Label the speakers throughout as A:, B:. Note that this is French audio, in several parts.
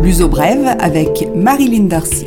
A: Luso Brève avec Marilyn Darcy.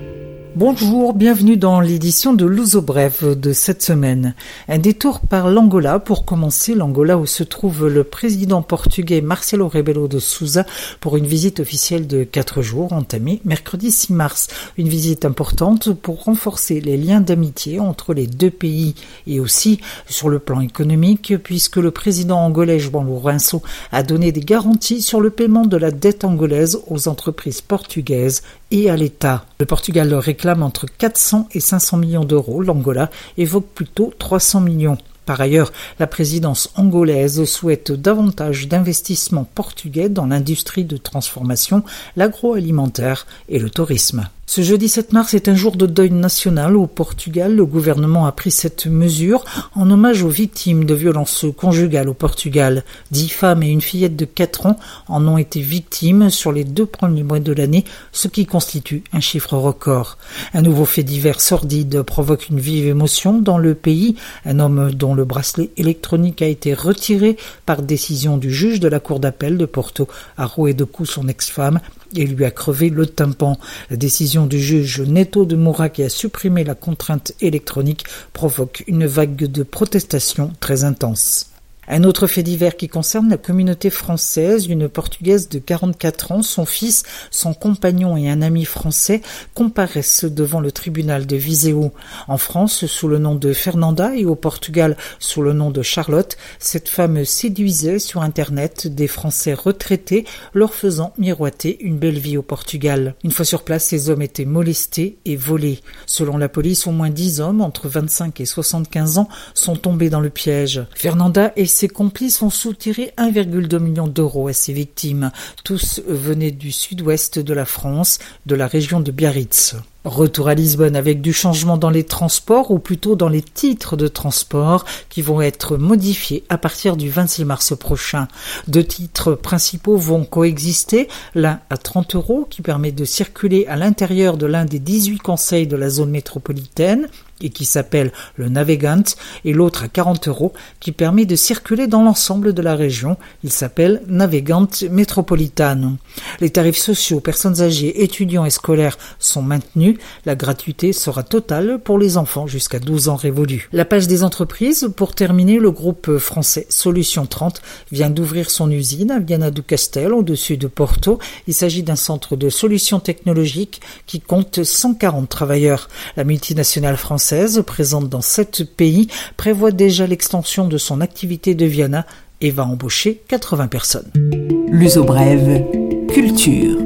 B: Bonjour, bienvenue dans l'édition de Luso Brève de cette semaine. Un détour par l'Angola pour commencer, l'Angola où se trouve le président portugais Marcelo Rebelo de Sousa pour une visite officielle de 4 jours entamée mercredi 6 mars. Une visite importante pour renforcer les liens d'amitié entre les deux pays et aussi sur le plan économique puisque le président angolais João Lourenço a donné des garanties sur le paiement de la dette angolaise aux entreprises portugaises et à l'État. Le Portugal leur réclame entre 400 et 500 millions d'euros. L'Angola évoque plutôt 300 millions. Par ailleurs, la présidence angolaise souhaite davantage d'investissements portugais dans l'industrie de transformation, l'agroalimentaire et le tourisme. Ce jeudi 7 mars est un jour de deuil national au Portugal. Le gouvernement a pris cette mesure en hommage aux victimes de violences conjugales au Portugal. 10 femmes et une fillette de 4 ans en ont été victimes sur les 2 premiers mois de l'année, ce qui constitue un chiffre record. Un nouveau fait divers sordide provoque une vive émotion dans le pays. Un homme dont le bracelet électronique a été retiré par décision du juge de la cour d'appel de Porto a roué de coups son ex-femme et lui a crevé le tympan. La décision du juge Neto de Moura qui a supprimé la contrainte électronique provoque une vague de protestations très intense. Un autre fait divers qui concerne la communauté française, une Portugaise de 44 ans, son fils, son compagnon et un ami français comparaissent devant le tribunal de Viseu. En France, sous le nom de Fernanda et au Portugal, sous le nom de Charlotte, cette femme séduisait sur Internet des Français retraités, leur faisant miroiter une belle vie au Portugal. Une fois sur place, ces hommes étaient molestés et volés. Selon la police, au moins 10 hommes, entre 25 et 75 ans, sont tombés dans le piège. Fernanda et ses complices ont soutiré 1,2 million d'euros à ses victimes. Tous venaient du sud-ouest de la France, de la région de Biarritz. Retour à Lisbonne avec du changement dans les transports, ou plutôt dans les titres de transport qui vont être modifiés à partir du 26 mars prochain. 2 titres principaux vont coexister, l'un à 30 € qui permet de circuler à l'intérieur de l'un des 18 conseils de la zone métropolitaine et qui s'appelle le Navegant, et l'autre à 40 € qui permet de circuler dans l'ensemble de la région. Il s'appelle Navegant Metropolitano. Les tarifs sociaux, personnes âgées, étudiants et scolaires sont maintenus. La gratuité sera totale pour les enfants jusqu'à 12 ans révolus. La page des entreprises, pour terminer, le groupe français Solution 30 vient d'ouvrir son usine à Viana do Castelo, au-dessus de Porto. Il s'agit d'un centre de solutions technologiques qui compte 140 travailleurs. La multinationale française, présente dans 7 pays, prévoit déjà l'extension de son activité de Viana et va embaucher 80 personnes.
A: Luso Brève, culture.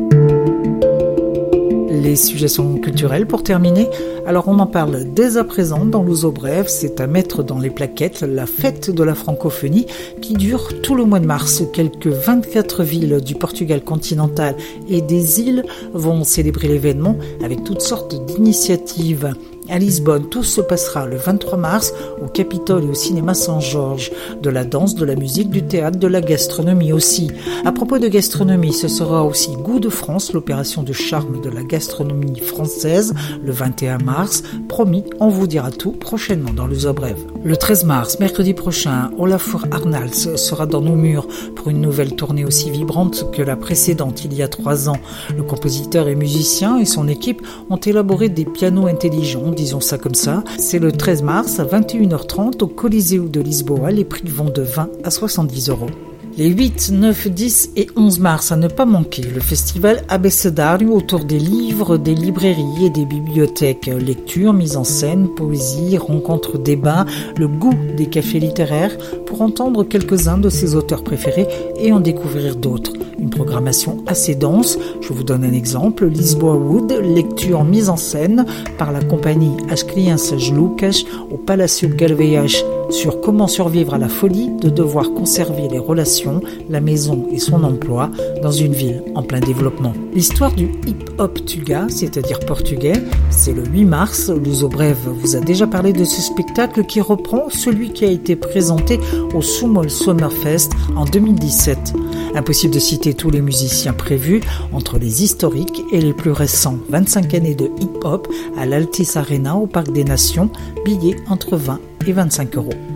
B: Les suggestions culturelles pour terminer. Alors on en parle dès à présent dans Luso Brève, c'est à mettre dans les plaquettes la fête de la francophonie qui dure tout le mois de mars. Quelques 24 villes du Portugal continental et des îles vont célébrer l'événement avec toutes sortes d'initiatives. À Lisbonne, tout se passera le 23 mars au Capitole et au cinéma Saint-Georges. De la danse, de la musique, du théâtre, de la gastronomie aussi. À propos de gastronomie, ce sera aussi Goût de France, l'opération de charme de la gastronomie française, le 21 mars. Promis, on vous dira tout prochainement dans Luso Brève. Le 13 mars, mercredi prochain, Olafur Arnalds sera dans nos murs pour une nouvelle tournée aussi vibrante que la précédente il y a 3 ans. Le compositeur et musicien et son équipe ont élaboré des pianos intelligents, disons ça comme ça. C'est le 13 mars à 21h30 au Coliseu de Lisboa. Les prix vont de 20 à 70 €. Les 8, 9, 10 et 11 mars, à ne pas manquer, le festival Abecedário autour des livres, des librairies et des bibliothèques. Lecture, mise en scène, poésie, rencontres, débats, le goût des cafés littéraires pour entendre quelques-uns de ses auteurs préférés et en découvrir d'autres. Une programmation assez dense. Je vous donne un exemple. Lisboa Wood, lecture mise en scène par la compagnie As Crianças Lucas au Palácio Galveias sur comment survivre à la folie de devoir conserver les relations, la maison et son emploi dans une ville en plein développement. L'histoire du hip-hop tuga, c'est-à-dire portugais, c'est le 8 mars. Luso Brève vous a déjà parlé de ce spectacle qui reprend celui qui a été présenté au Sumol Summerfest en 2017. Impossible de citer tous les musiciens prévus, entre les historiques et les plus récents. 25 années de hip-hop à l'Altis Arena au Parc des Nations, billets entre 20 et 25 €.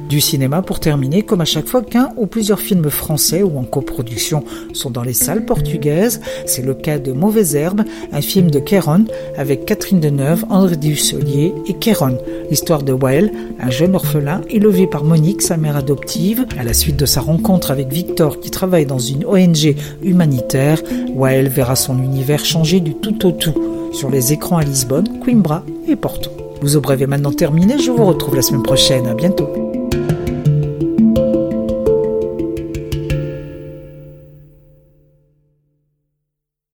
B: Du cinéma pour terminer, comme à chaque fois qu'un ou plusieurs films français ou en coproduction sont dans les salles portugaises. C'est le cas de Mauvaises Herbes, un film de Kéron avec Catherine Deneuve, André Dussolier et Kéron. L'histoire de Wael, un jeune orphelin élevé par Monique, sa mère adoptive. À la suite de sa rencontre avec Victor qui travaille dans une ONG humanitaire, Wael verra son univers changer du tout au tout. Sur les écrans à Lisbonne, Coimbra et Porto. L'Ouzou Brève est maintenant terminé, je vous retrouve la semaine prochaine, à bientôt.